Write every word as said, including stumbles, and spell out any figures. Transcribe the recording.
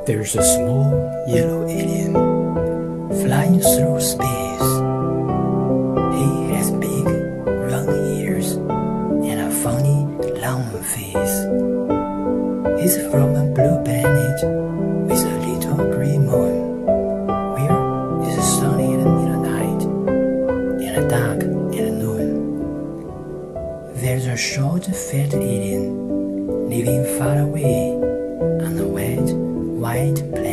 There's a small yellow alien flying through space. He has big, round ears and a funny, long face. He's from a blue planet with a little green moon, where it's sunny at midnight and dark at noon. There's a short, fat alien living far away on a wet, white planet.